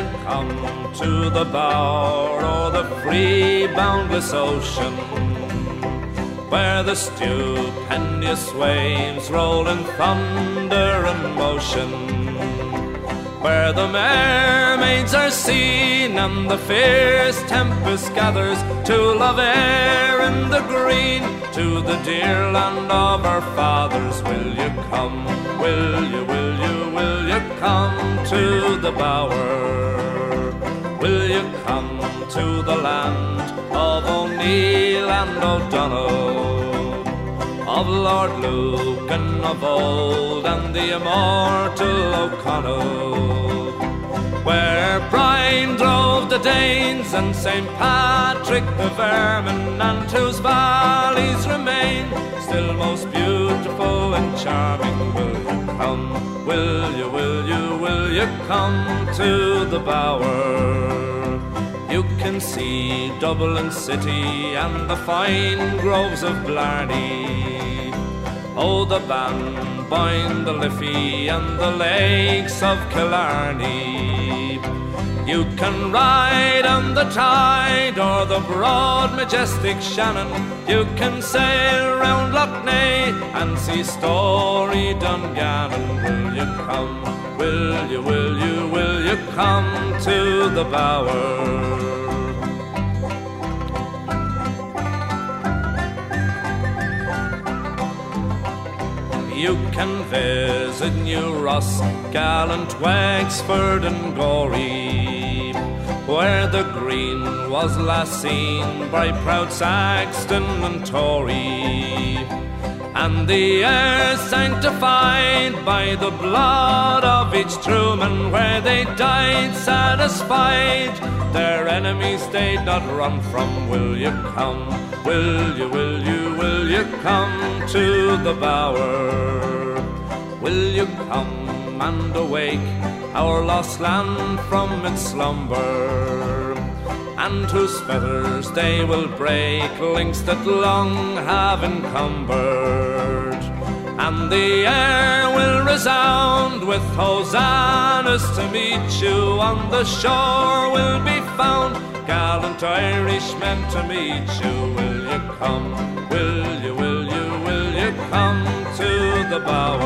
you come to the bower o'er the free boundless ocean, where the stupendous waves roll in thunder and motion, where the mermaids are seen and the fierce tempest gathers to love air in the green, to the dear land of our fathers. Will you come, will you come to the bower? Will you come to the land of O'Neill and O'Donnell, of Lord Lucan of old and the immortal O'Connell, where Brian drove the Danes and St. Patrick the Vermin, and whose valleys remain still most beautiful and charming. Will you come, will you come to the bower? You can see Dublin city and the fine groves of Blarney, oh, the Banboyne, the Liffey and the lakes of Killarney. You can ride on the tide or the broad majestic Shannon. You can sail round Lough Neagh and see story Dungannon. Will you come, will you come to the bower? You can visit New Ross, gallant Wexford and Gorey, where the green was last seen by proud Saxton and Tory, and the air sanctified by the blood of each true man, where they died satisfied their enemies they'd not run from. Will you come, will you come to the bower? Will you come and awake our lost land from its slumber, and whose fetters they will break, links that long have encumbered, and the air will resound with hosannas to meet you. On the shore will be found gallant Irishmen to meet you. Will you come, will you come to the bower?